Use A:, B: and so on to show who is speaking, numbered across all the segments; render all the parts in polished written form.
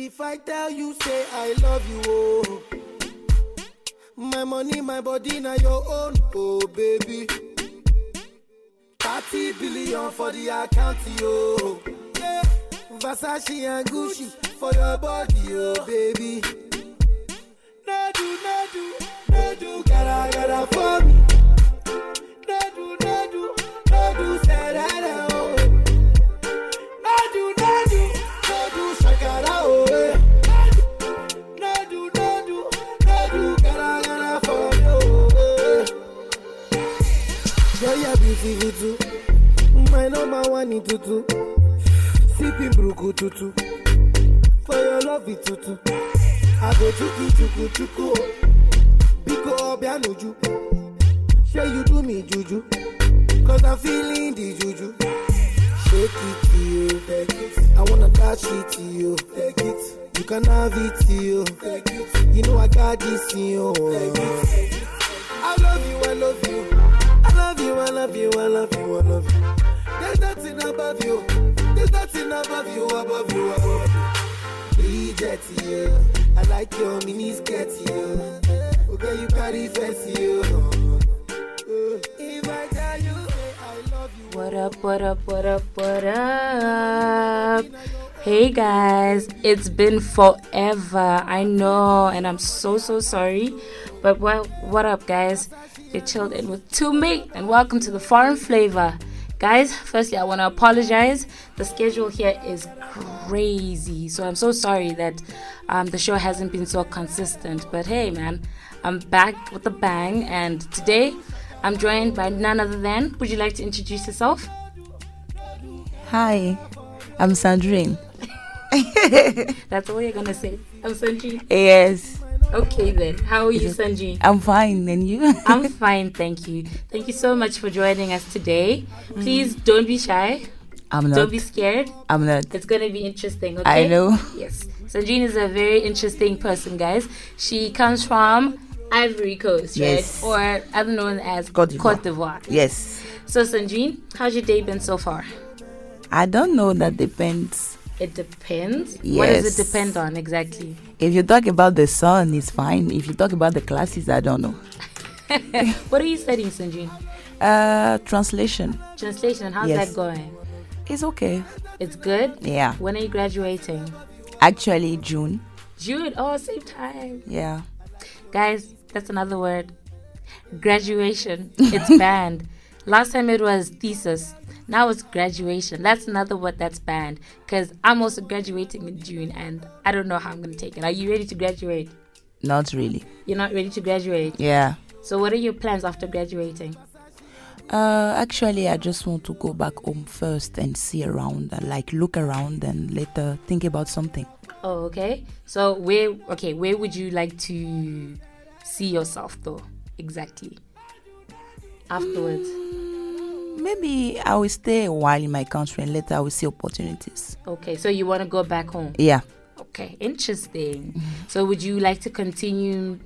A: If I tell you, say I love you, oh. My money, my body, now your own, oh baby. 30 billion for the account, yo. Yeah. Versace and Gucci for your body, oh baby. No do, gotta for me. No do, say that, oh. No do, shakara, oh. No do, gotta for me, oh. Girl, you're beautiful too. My number one in tutu. Sipping bruku tutu. For your love it tutu. I go chuku. Biko obianuju. Say you do me juju. Cause I'm feeling the juju. Shake it to you. Take it. I wanna dash it to you. Take it. You can have it to you. Take it. You know I got this in you. Take it. I love you. I love you. There's nothing above you. There's nothing above you. Bridget, yeah. I like your mini skirt, yeah. Okay, you carry fancy, yeah. If I tell you, I love you.
B: What up? Hey guys, it's been forever. I know, and I'm so sorry. But what up, guys? You're chilled in with Tumi, and welcome to the Foreign Flavor. Guys, firstly, I want to apologize. The schedule here is crazy, so I'm so sorry that the show hasn't been so consistent. But hey, man, I'm back with a bang, and today I'm joined by none other than. Would you like to introduce yourself?
C: Hi, I'm Sandrine.
B: That's all you're gonna say. I'm Sandrine.
C: Yes.
B: Okay then. How are you, Sanji?
C: I'm fine, and you?
B: I'm fine, thank you. Thank you so much for joining us today. Please don't be shy.
C: I'm not.
B: Don't be scared.
C: I'm not.
B: It's going to be interesting, okay?
C: I know.
B: Yes. Sanjine is a very interesting person, guys. She comes from Ivory Coast,
C: yes,
B: right? Or other known as
C: Cote d'Ivoire.
B: Yes. So, Sanjine, how's your day been so far?
C: I don't know. That depends.
B: It depends?
C: Yes.
B: What does it depend on exactly?
C: If you talk about the sun, it's fine. If you talk about the classes, I don't know.
B: What are you studying, Sanjine?
C: Translation.
B: Translation. How's
C: yes.
B: that going?
C: It's okay.
B: It's good?
C: Yeah.
B: When are you graduating?
C: Actually, June.
B: June? Oh, same time.
C: Yeah.
B: Guys, that's another word. Graduation. It's banned. Last time it was thesis. Now it's graduation. That's another word that's banned. Because I'm also graduating in June and I don't know how I'm going to take it. Are you ready to graduate?
C: Not really.
B: You're not ready to graduate?
C: Yeah.
B: So what are your plans after graduating?
C: Actually, I just want to go back home first and see around, look around and later think about something.
B: Oh, okay. So where would you like to see yourself though? Exactly. Afterwards?
C: Maybe I will stay a while in my country and later I will see opportunities.
B: Okay, so you want to go back home?
C: Yeah.
B: Okay, interesting. So would you like to continue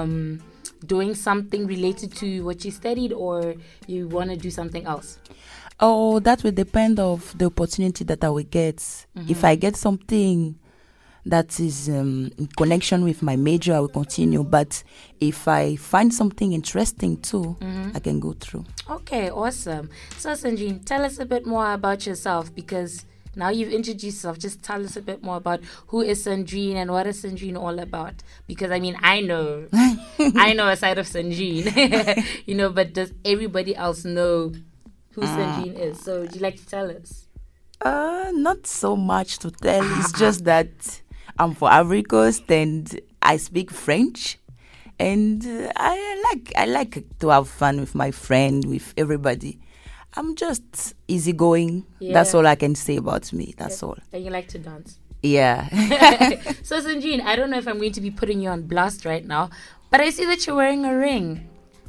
B: doing something related to what you studied, or you want to do something else?
C: Oh, that will depend of the opportunity that I will get. Mm-hmm. If I get something that is in connection with my major, I will continue. But if I find something interesting too, I can go through. Okay,
B: awesome. So Sanjine, tell us a bit more about yourself, because now you've introduced yourself. Just tell us a bit more about who is Sanjine and what is Sanjine all about. Because I mean, I know a side of Sanjine, but does everybody else know who Sanjine is? So would you like to tell us?
C: Not so much to tell. It's just that I'm from Ivory Coast and I speak French, and I like to have fun with my friend, with everybody. I'm just easygoing. Yeah. That's all I can say about me. That's all.
B: And you like to dance.
C: Yeah.
B: So Sanjine, I don't know if I'm going to be putting you on blast right now, but I see that you're wearing a ring.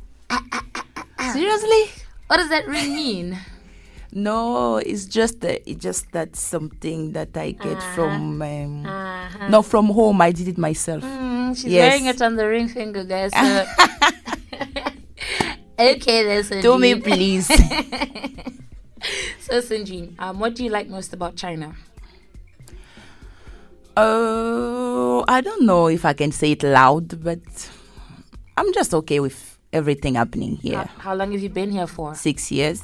C: Seriously?
B: What does that ring mean?
C: No, it's just that something that I get from not from home. I did it myself.
B: She's wearing it on the ring finger, guys. So. Okay, then, Sanjine.
C: Do me, please.
B: So, Sanjine, what do you like most about China?
C: I don't know if I can say it loud, but I'm just okay with everything happening here.
B: How long have you been here for?
C: 6 years.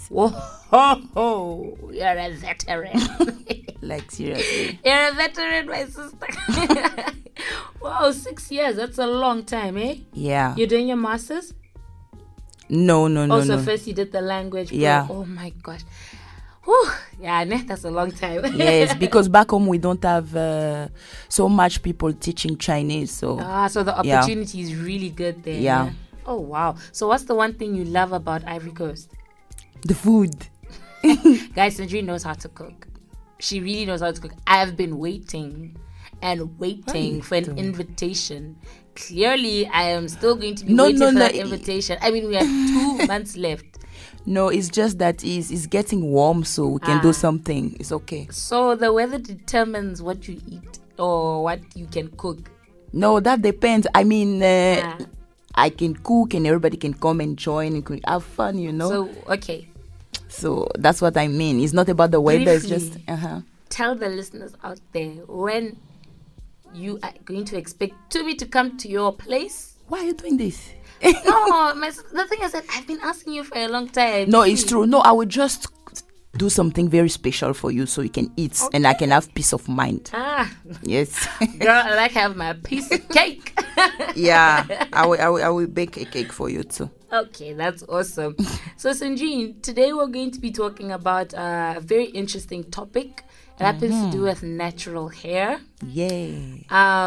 B: Whoa, you're a veteran.
C: Like, seriously.
B: You're a veteran, my sister. Wow, 6 years. That's a long time, eh?
C: Yeah.
B: You're doing your master's?
C: No.
B: Also, first you did the language.
C: Yeah.
B: Oh, my gosh. Whew. Yeah, that's a long time.
C: Yes, because back home we don't have so much people teaching Chinese. So
B: so the opportunity is really good there.
C: Yeah.
B: Oh, wow. So what's the one thing you love about Ivory Coast?
C: the food.
B: Guys, Sandrine knows how to cook. She really knows how to cook. I've been waiting and waiting for an invitation. Clearly, I am still going to be waiting for that invitation. I mean, we have 2 months left.
C: No, it's just that it's getting warm, so we can do something. It's okay.
B: So the weather determines what you eat or what you can cook?
C: No, that depends. I mean, I can cook and everybody can come and join and have fun, you know.
B: So, okay.
C: So that's what I mean. It's not about the weather.
B: Briefly,
C: it's just...
B: Tell the listeners out there when you are going to expect Tubi to come to your place.
C: Why are you doing this?
B: No, the thing is that I've been asking you for a long time.
C: No, it's true. No, I would just do something very special for you so you can eat and I can have peace of mind. Yes.
B: Girl, I like have my piece of cake.
C: Yeah, I will bake a cake for you too.
B: Okay, that's awesome. So, Sandrine, today we're going to be talking about a very interesting topic. It happens to do with natural hair.
C: Yay.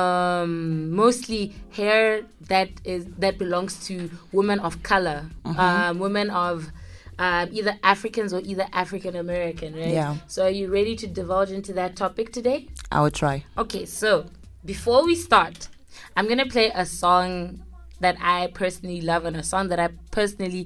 B: Mostly hair that belongs to women of color, women of either Africans or either African American, right?
C: Yeah.
B: So, are you ready to divulge into that topic today?
C: I will try.
B: Okay, so before we start, I'm gonna play a song that I personally love and a song that I personally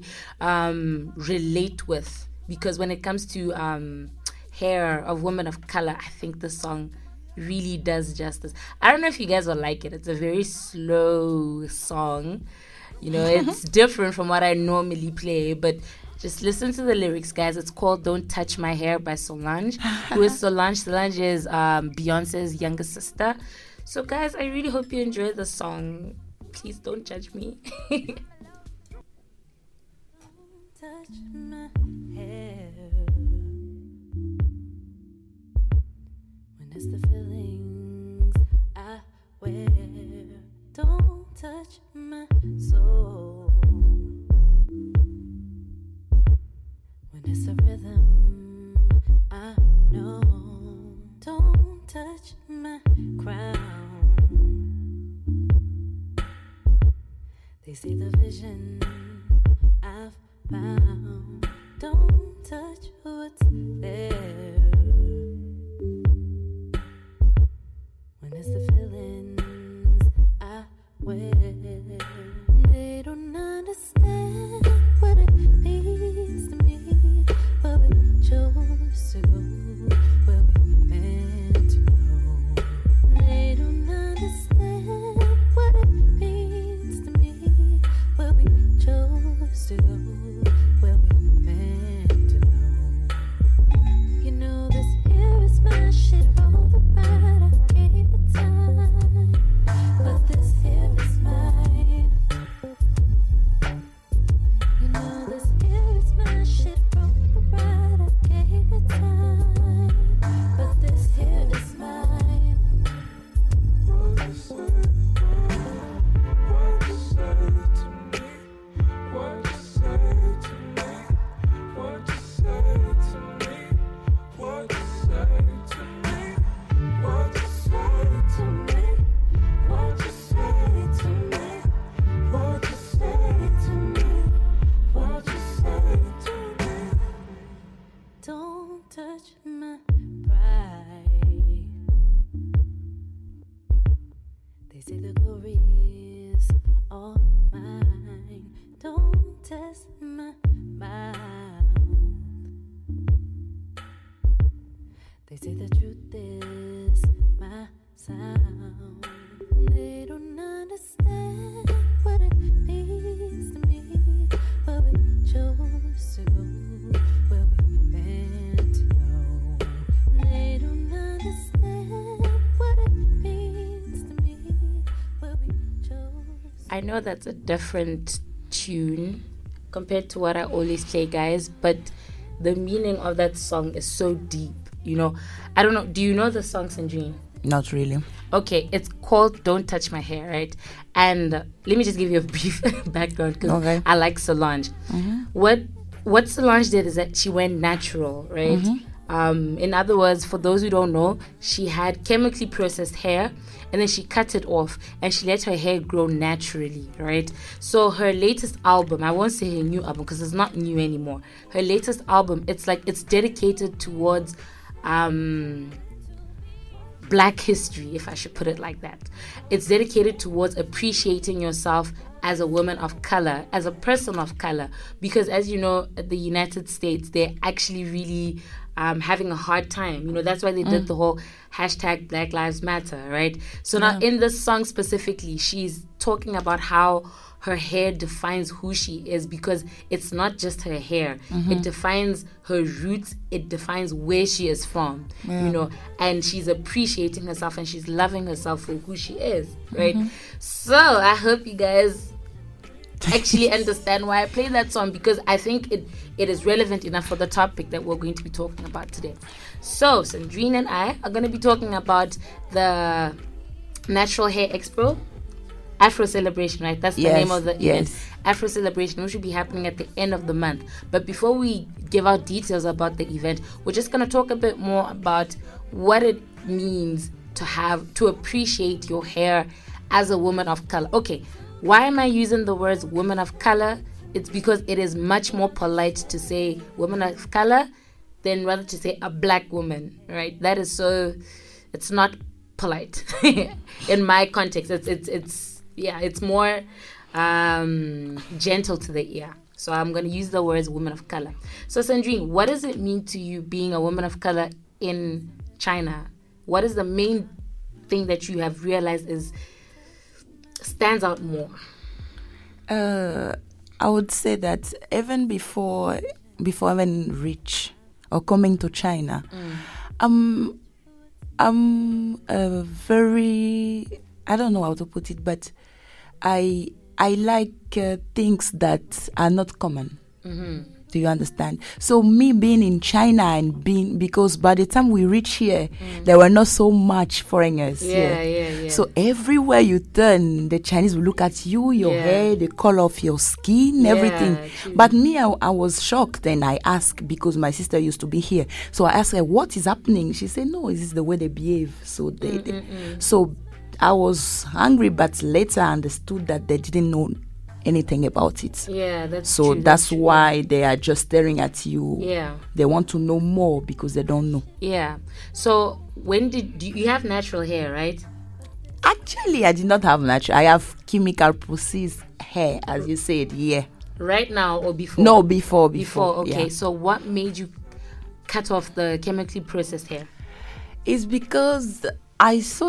B: relate with, because when it comes to hair of women of color, I think the song really does justice. I don't know if you guys will like it. It's a very slow song. You know, it's different from what I normally play, but just listen to the lyrics, guys. It's called Don't Touch My Hair by Solange. Who is Solange? Solange is Beyonce's younger sister. So, guys, I really hope you enjoy the song. Please don't judge me.
D: Touch my hair. When it's the feelings I wear. Don't touch my soul. When it's a rhythm I know. Don't touch my crown. They see the vision I've found. Don't touch what's there. When it's the feelings I wear. They don't understand what it means to me. But we chose to go where we meant to go. They don't understand what it means to me. Where we chose to go, where we meant to know. You know this here is my shit. All the ride I gave it time, but this here is mine. You know this here is my shit. All the ride I gave it time, but this here is mine.
E: What you say to me? What you say to me? What you say to me? What you say to me? What you say to me? What you say to me? What you say to me? What you say to me? What you say to me?
D: Don't touch my pride. They say the glory is all mine. Don't test my mouth. They say the truth is my sound. They don't understand what it means to me. But we chose to go where we meant to know. They don't understand what it means.
B: I know that's a different tune compared to what I always play, guys, but the meaning of that song is so deep, you know. I don't know, do you know the song, Sandrine?
C: Not really.
B: Okay, it's called Don't Touch My Hair, right? And let me just give you a brief background because
C: Okay.
B: I like Solange. What Solange did is that she went natural, right? In other words, for those who don't know, she had chemically processed hair and then she cut it off and she let her hair grow naturally, right? So her latest album, I won't say her new album because it's not new anymore. Her latest album, it's dedicated towards Black history, if I should put it like that. It's dedicated towards appreciating yourself as a woman of color, as a person of color, because as you know, the United States, they're actually really having a hard time. You know, that's why they did the whole hashtag Black Lives Matter, right? So now in this song specifically, she's talking about how her hair defines who she is, because it's not just her hair. It defines her roots. It defines where she is from, you know, and she's appreciating herself and she's loving herself for who she is, right? So I hope you guys actually understand why I play that song, because I think it is relevant enough for the topic that we're going to be talking about today. So Sandrine and I are going to be talking about the Natural Hair Expo, Afro Celebration, right? That's the name of the event. Afro Celebration, which will be happening at the end of the month. But before we give out details about the event, we're just going to talk a bit more about what it means to appreciate your hair as a woman of color. Okay, why am I using the words woman of color? It's because it is much more polite to say woman of color than rather to say a black woman, right? That is so, it's not polite in my context. It's more gentle to the ear. So I'm going to use the words woman of color. So Sandrine, what does it mean to you being a woman of color in China? What is the main thing that you have realized stands out more?
C: I would say that even before even reach or coming to China, I'm very, I don't know how to put it, but I like things that are not common. Do you understand? So me being in China and because by the time we reach here, there were not so much foreigners here.
B: Yeah.
C: So everywhere you turn, the Chinese will look at you, your hair, the color of your skin, everything.
B: True.
C: But me, I was shocked, and I asked, because my sister used to be here. So I asked her, what is happening? She said, no, this is the way they behave. So so I was angry, but later I understood that they didn't know anything about it.
B: Yeah, that's
C: so
B: true.
C: That's why they are just staring at you.
B: Yeah.
C: They want to know more because they don't know.
B: Yeah. So when do you have natural hair, right?
C: Actually, I did not have natural. I have chemical processed hair, as you said. Yeah.
B: Right now or before?
C: No, before.
B: Okay.
C: Yeah.
B: So what made you cut off the chemically processed hair?
C: It's because I saw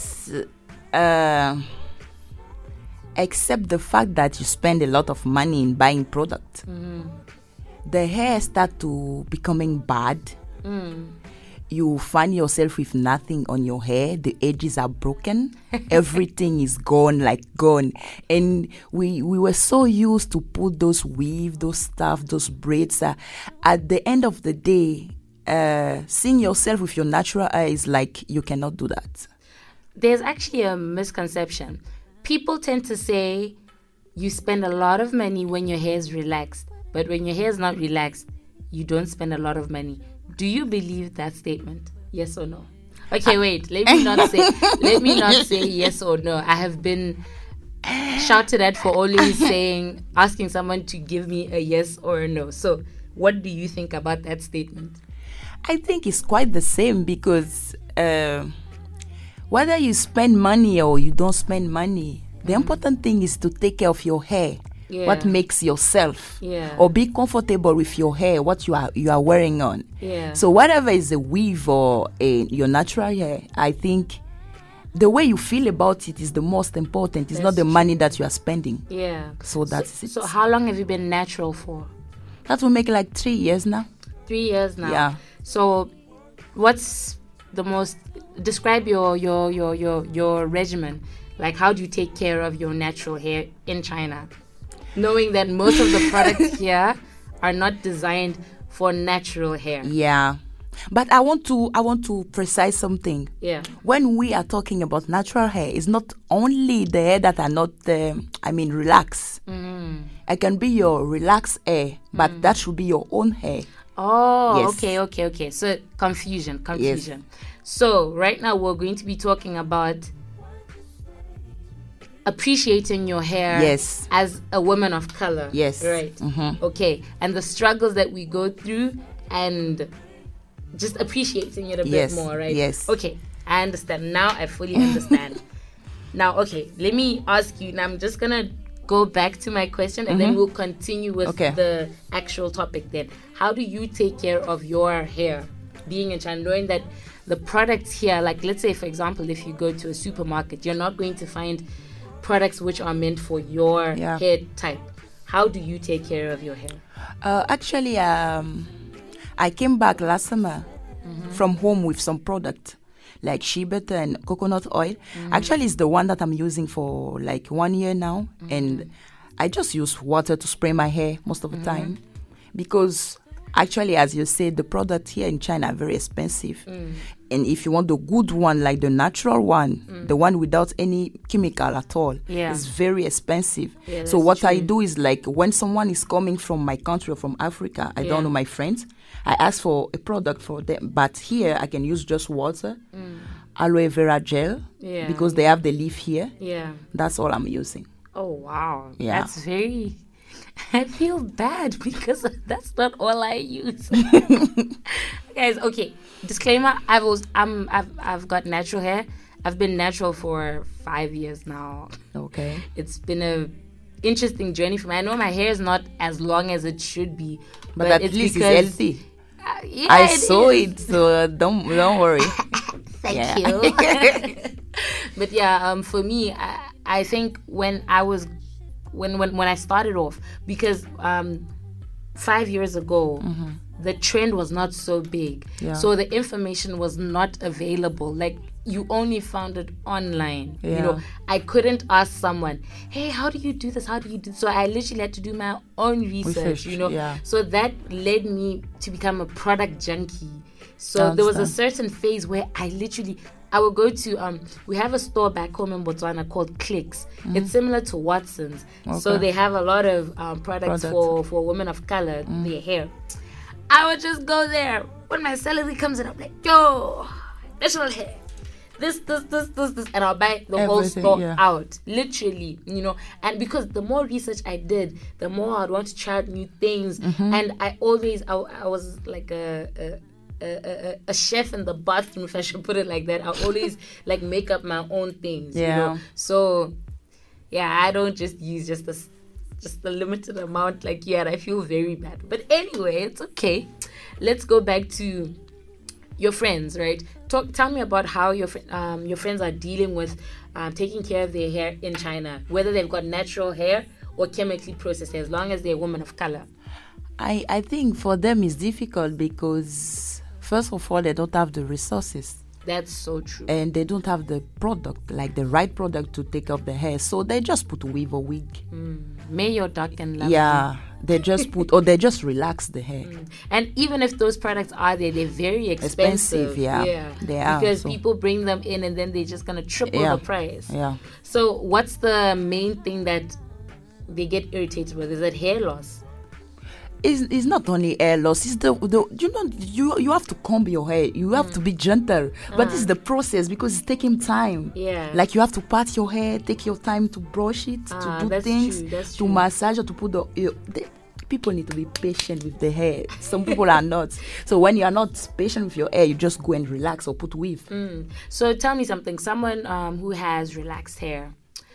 C: that except the fact that you spend a lot of money in buying product, the hair start to becoming bad. You find yourself with nothing on your hair. The edges are broken. Everything is gone. And we were so used to put those weave, those stuff, those braids. At the end of the day, seeing yourself with your natural hair is like you cannot do that.
B: There's actually a misconception. People tend to say you spend a lot of money when your hair is relaxed, but when your hair is not relaxed, you don't spend a lot of money. Do you believe that statement? Yes or no? Okay, wait. Let me not say yes or no. I have been shouted at for always asking someone to give me a yes or a no. So, what do you think about that statement?
C: I think it's quite the same, because whether you spend money or you don't spend money, the important thing is to take care of your hair.
B: Yeah.
C: What makes yourself,
B: Yeah.
C: or be comfortable with your hair, what you are wearing on.
B: Yeah.
C: So whatever is a weave or your natural hair, I think the way you feel about it is the most important. It's not the money that you are spending.
B: Yeah.
C: So that's it.
B: So how long have you been natural for?
C: That will make like 3 years now.
B: 3 years now.
C: Yeah.
B: So what's the most, describe your regimen. Like, how do you take care of your natural hair in China, knowing that most of the products here are not designed for natural hair?
C: Yeah. But I want to precise something.
B: Yeah.
C: When we are talking about natural hair, it's not only the hair that are not, relaxed. It can be your relaxed hair, but that should be your own hair.
B: Oh,
C: Yes.
B: okay. So confusion. So right now we're going to be talking about appreciating your hair
C: Yes.
B: as a woman of color.
C: Yes.
B: Right. Okay. And the struggles that we go through and just appreciating it a
C: Yes,
B: bit more, right?
C: yes.
B: Okay. I understand. Now I fully understand. Now, okay, let me ask you. Now I'm just going to go back to my question and then we'll continue with
C: Okay.
B: the actual topic then. How do you take care of your hair being in China, knowing that the products here, like let's say, for example, if you go to a supermarket, you're not going to find products which are meant for your
C: Yeah.
B: hair type. How do you take care of your hair?
C: Actually, I came back last summer from home with some product like shea butter and coconut oil. Actually, it's the one that I'm using for like 1 year now. And I just use water to spray my hair most of the time. Because actually, as you said, the product here in China are very expensive. And if you want the good one, like the natural one, the one without any chemical at all,
B: Yeah.
C: it's very expensive.
B: Yeah,
C: So
B: that's
C: what I
B: true.
C: do is like when someone is coming from my country or from Africa, I
B: Yeah.
C: don't know my friends, I ask for a product for them. But here I can use just water, aloe vera gel,
B: Yeah.
C: because they have the leaf here.
B: Yeah.
C: That's all I'm using.
B: Oh, wow.
C: Yeah.
B: That's very... I feel bad because that's not all I use. Guys, okay. Disclaimer, I've got natural hair. I've been natural for 5 years now.
C: Okay.
B: It's been a interesting journey for me. I know my hair is not as long as it should be,
C: But at
B: it's
C: least it's
B: because-
C: healthy.
B: Yeah,
C: I
B: it
C: saw
B: is.
C: it, so don't worry.
B: Thank
C: Yeah.
B: you. But yeah, for me, I think when I started off, because 5 years ago, the trend was not so big.
C: Yeah.
B: So the information was not available. Like, you only found it online. You
C: Yeah.
B: know, I couldn't ask someone, hey, how do you do this? How do you do this? So I literally had to do my own research, you know.
C: yeah.
B: So that led me to become a product junkie. So there was a
C: Understand.
B: certain phase where I would go to we have a store back home in Botswana called Clicks. It's similar to Watson's. So
C: Okay.
B: they have a lot of products for women of color, their hair. I would just go there when my salary comes in. I'm like, yo, natural hair. This, and I'll buy the whole
C: Everything,
B: store
C: yeah.
B: out, literally, you know. And because the more research I did, the more I'd want to try out new things. And I was like a chef in the bathroom, if I should put it like that. I always like make up my own things, you
C: Yeah.
B: know. So yeah, I don't just use just a limited amount like you, and I feel very bad. But anyway, it's okay. Let's go back to your friends, right? Tell me about how your friends are dealing with taking care of their hair in China, whether they've got natural hair or chemically processed hair, as long as they're women of color.
C: I think for them it's difficult because first of all they don't have the resources
B: That's so true.
C: and they don't have the product, like the right product to take off the hair, so they just put weave or wig.
B: May your dark and lovely.
C: Yeah, they just put or they just relax the hair.
B: And even if those products are there, they're very expensive.
C: Yeah. They are,
B: Because
C: so-
B: people bring them in and then they're just going to triple
C: Yeah.
B: the price.
C: Yeah.
B: So what's the main thing that they get irritated with? Is it hair loss?
C: It's not only hair loss. It's you have to comb your hair. You have to be gentle. But it's the process because it's taking time.
B: Yeah.
C: Like you have to part your hair, take your time to brush it, to do
B: that's
C: things,
B: true, that's
C: to
B: true.
C: massage or to put people need to be patient with the hair. Some people are not. So when you are not patient with your hair, you just go and relax or put weave.
B: So tell me something. Someone who has relaxed hair,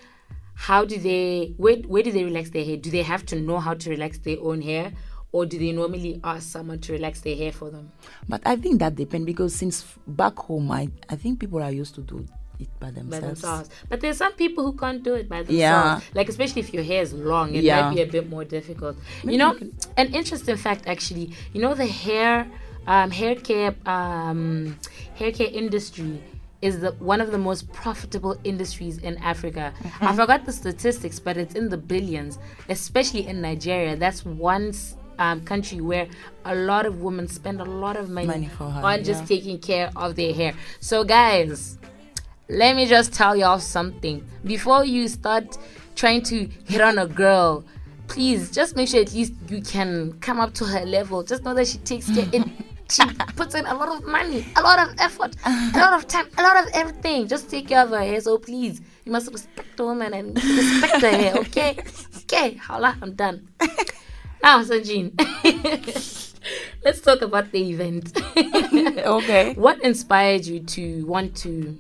B: how do they, where do they relax their hair? Do they have to know how to relax their own hair? Or do they normally ask someone to relax their hair for them?
C: But I think that depends because since back home, I think people are used to do it by
B: By
C: themselves.
B: themselves. But there's some people who can't do it by themselves.
C: Yeah.
B: Like, especially if your hair is long, it
C: Yeah.
B: might be a bit more difficult. You know, an interesting fact actually, you know, the hair care industry is one of the most profitable industries in Africa. I forgot the statistics, but it's in the billions, especially in Nigeria. That's one country where a lot of women spend a lot of money
C: for her,
B: on just taking care of their hair. So guys, let me just tell y'all something. Before you start trying to hit on a girl, please just make sure at least you can come up to her level. Just know that she takes care. She puts in a lot of money, a lot of effort, a lot of time, a lot of everything. Just take care of her hair. So please, you must respect the woman and respect her hair, okay? Okay, holla, I'm done. Now, Sanjeen, let's talk about the event.
C: Okay.
B: What inspired you to want to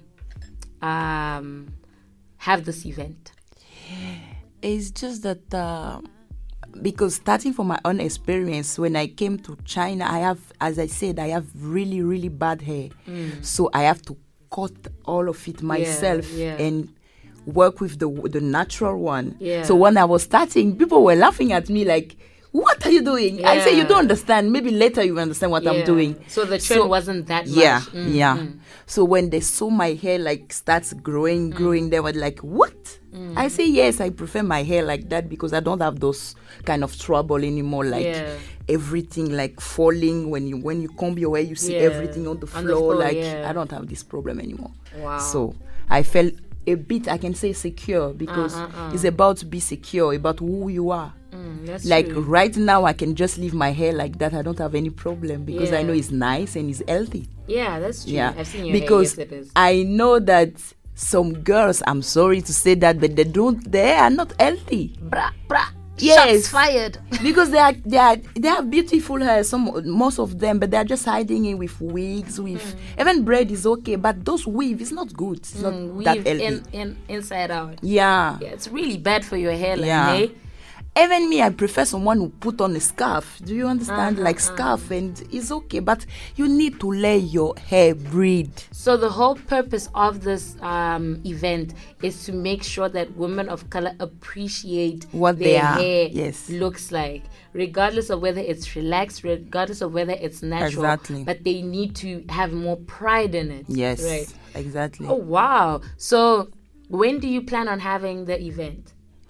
B: have this event?
C: It's just that because starting from my own experience, when I came to China, I have, as I said, I have really, really bad hair. So I have to cut all of it myself and work with the natural one. So when I was starting, people were laughing at me like, what are you doing? I say, you don't understand. Maybe later you will understand what I'm doing.
B: So the trend wasn't that much.
C: So when they saw my hair like starts growing, they were like, what? I say, yes, I prefer my hair like that because I don't have those kind of trouble anymore. Like everything like falling when you comb your hair, you see everything on the floor. I don't have this problem anymore.
B: Wow.
C: So I felt a bit, I can say secure because it's about to be secure, about who you are.
B: That's
C: like
B: true.
C: right now I can just leave my hair like that. I don't have any problem because I know it's nice and it's healthy.
B: Yeah, that's true. I've seen your
C: because
B: hair. Yes, it is.
C: I know that some girls, I'm sorry to say that, but they are not healthy.
B: Bra.
C: Yes.
B: Shots fired.
C: Because they have beautiful hair, most of them, but they are just hiding it with wigs, with even braid is okay, but those weave is not good. It's not that healthy.
B: Inside out.
C: Yeah,
B: it's really bad for your hairline. Hey?
C: Even me, I prefer someone who put on a scarf. Do you understand? Like scarf, and it's okay, but you need to let your hair breathe.
B: So the whole purpose of this event is to make sure that women of color appreciate
C: what
B: their
C: their
B: hair looks like, regardless of whether it's relaxed, regardless of whether it's natural.
C: Exactly.
B: But they need to have more pride in it.
C: Yes,
B: right.
C: Exactly.
B: Oh wow! So when do you plan on having the event?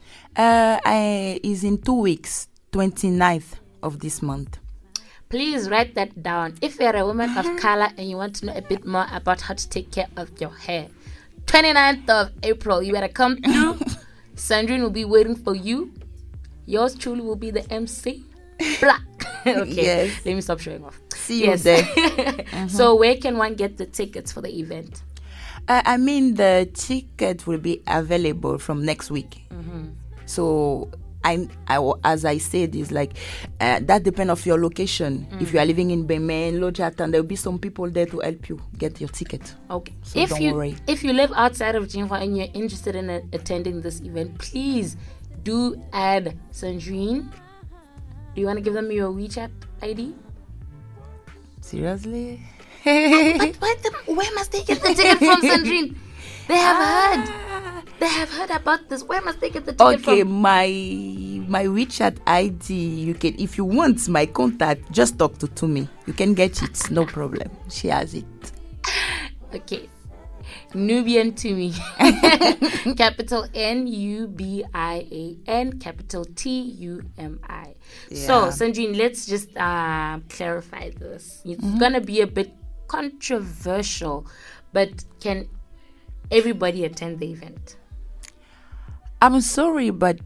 C: Is in 2 weeks, 29th of this month.
B: Please write that down. If you're a woman of color and you want to know a bit more about how to take care of your hair, 29th of April, you better come through. Sandrine will be waiting for you. Yours truly will be the MC. Blah. Okay,
C: yes.
B: Let me stop showing off.
C: See you there.
B: So where can one get the tickets for the event?
C: I mean, the ticket will be available from next week. So as I said, is like that depends of your location. If you are living in Bemen, Lojatan, there will be some people there to help you get your ticket.
B: Okay.
C: So don't worry.
B: If you live outside of Jinhua and you're interested in attending this event, please do add Sandrine. Do you want to give them your WeChat ID?
C: Seriously?
B: Where must they get the ticket from, Sandrine? They have heard. They have heard about this. Where must they get the ticket from?
C: Okay, my WeChat ID, you can, if you want my contact, just talk to me. You can get it, no problem. She has it.
B: Okay. Nubian Tumi. Capital Nubian, capital Tumi. So, Sandrine, let's just clarify this. It's gonna be a bit controversial, but can everybody attend the event?
C: I'm sorry, but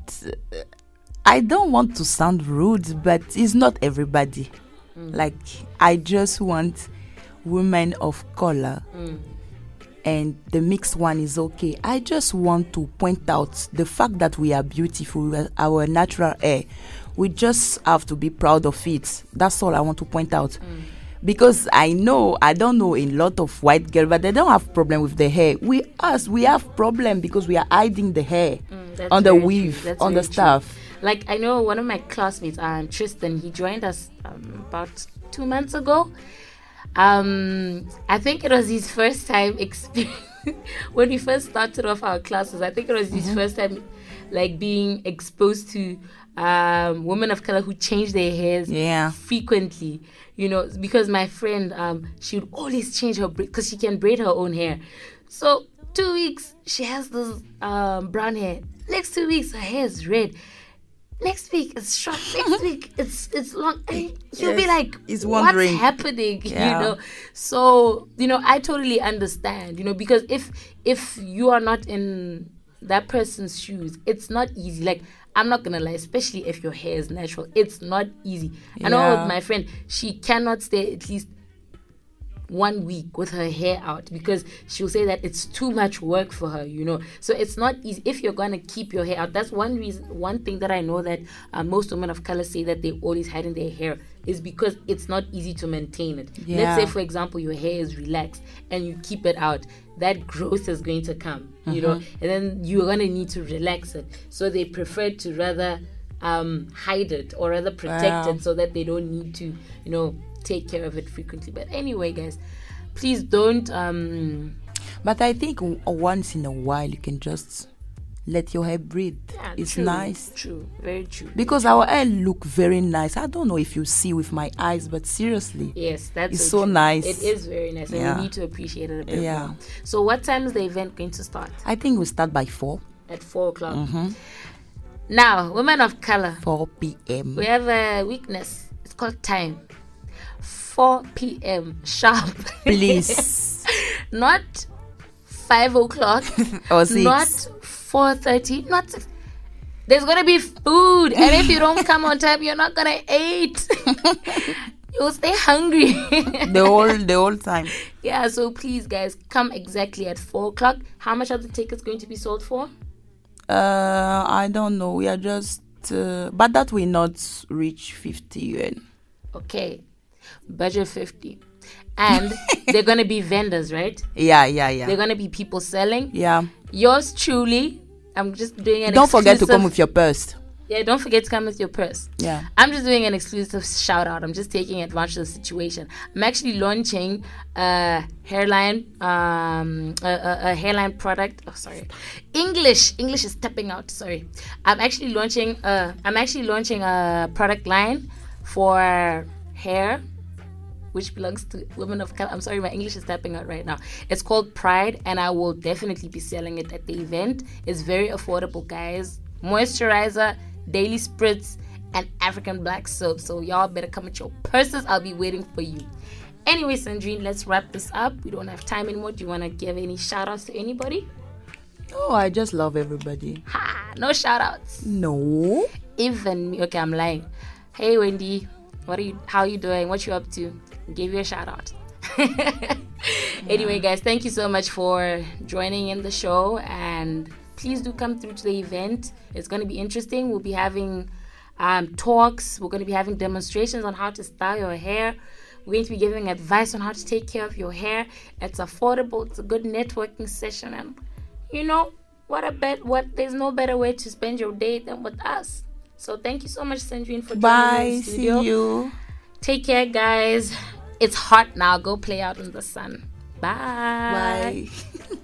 C: I don't want to sound rude, but it's not everybody. Like, I just want women of color, and the mixed one is okay. I just want to point out the fact that we are beautiful, our natural hair. We just have to be proud of it. That's all I want to point out. Because I don't know a lot of white girls, but they don't have problem with the hair. We have problem because we are hiding the hair on the weave, on the stuff.
B: Like, I know one of my classmates, Tristan, he joined us about 2 months ago. I think it was his first time experience when we first started off our classes. I think it was his first time like being exposed to women of color who change their hairs frequently, you know, because my friend she would always change her because she can braid her own hair. So 2 weeks she has this brown hair. Next 2 weeks her hair is red. Next week it's short. Next week it's long. And you'll be
C: Yes,
B: like,
C: he's
B: what's
C: wondering.
B: happening?
C: Yeah.
B: You know. So I totally understand. Because if you are not in that person's shoes, it's not easy. Like, I'm not gonna lie, especially if your hair is natural, it's not easy. I know
C: Yeah.
B: with my friend, she cannot stay at least 1 week with her hair out because she'll say that it's too much work for her. So it's not easy if you're gonna keep your hair out. That's one thing that I know that most women of color say that they always hide in their hair is because it's not easy to maintain it.
C: Yeah.
B: Let's say, for example, your hair is relaxed and you keep it out, that growth is going to come, and then you're gonna need to relax it. So they prefer to rather hide it or rather protect
C: Wow.
B: it so that they don't need to take care of it frequently. But anyway, guys, please don't
C: But I think once in a while you can just let your hair breathe.
B: yeah,
C: It's
B: true,
C: nice.
B: true, very true.
C: Because our hair look very nice. I don't know if you see with my eyes, but seriously.
B: Yes, that's
C: It's so
B: true.
C: nice.
B: It is very nice, and
C: Yeah.
B: we need to appreciate it a bit
C: Yeah.
B: more. So what time is the event going to start?
C: I think we start by 4
B: At 4:00. Now, women of color,
C: 4 p.m.
B: we have a weakness. It's called time. 4 p.m. sharp.
C: Please.
B: Not 5 o'clock.
C: Or 6.
B: Not 4:30. Not 6. There's gonna be food, and if you don't come on time, you're not gonna eat. You'll stay hungry.
C: the whole time.
B: Yeah, so please, guys, come exactly at 4 o'clock. How much are the tickets going to be sold for?
C: I don't know. We are just but that will not reach 50 yuan.
B: Okay, budget 50, and they're gonna be vendors, right?
C: Yeah.
B: They're gonna be people selling.
C: Yeah.
B: Yours truly. I'm just doing an.
C: Don't forget to
B: exclusive-
C: come with your purse.
B: Yeah, don't forget to come with your purse.
C: Yeah.
B: I'm just doing an exclusive shout out. I'm just taking advantage of the situation. I'm actually launching a hairline, a hairline product. Oh, sorry, English is stepping out. Sorry, I'm actually launching a product line for hair, which belongs to women of color. I'm sorry, my English is tapping out right now. It's called Pride, and I will definitely be selling it at the event. It's very affordable, guys. Moisturizer, daily spritz, and African black soap. So y'all better come with your purses. I'll be waiting for you. Anyway, Sandrine, let's wrap this up. We don't have time anymore. Do you want to give any shout outs to anybody?
C: Oh, I just love everybody.
B: Ha! No shout outs.
C: No.
B: Even me. Okay, I'm lying. Hey, Wendy. How are you doing? What you up to? Gave you a shout out. Anyway, guys, thank you so much for joining in the show, and please do come through to the event. It's going to be interesting. We'll be having talks. We're going to be having demonstrations on how to style your hair. We're going to be giving advice on how to take care of your hair. It's affordable. It's a good networking session, and there's no better way to spend your day than with us. So thank you so much, Sandrine, for joining me in
C: Bye.
B: the studio.
C: See you.
B: Take care, guys. It's hot now. Go play out in the sun. Bye.
C: Bye.